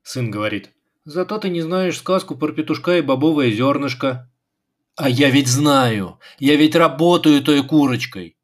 Сын говорит: «Зато ты не знаешь сказку про петушка и бобовое зернышко». А я ведь знаю, я ведь работаю той курочкой.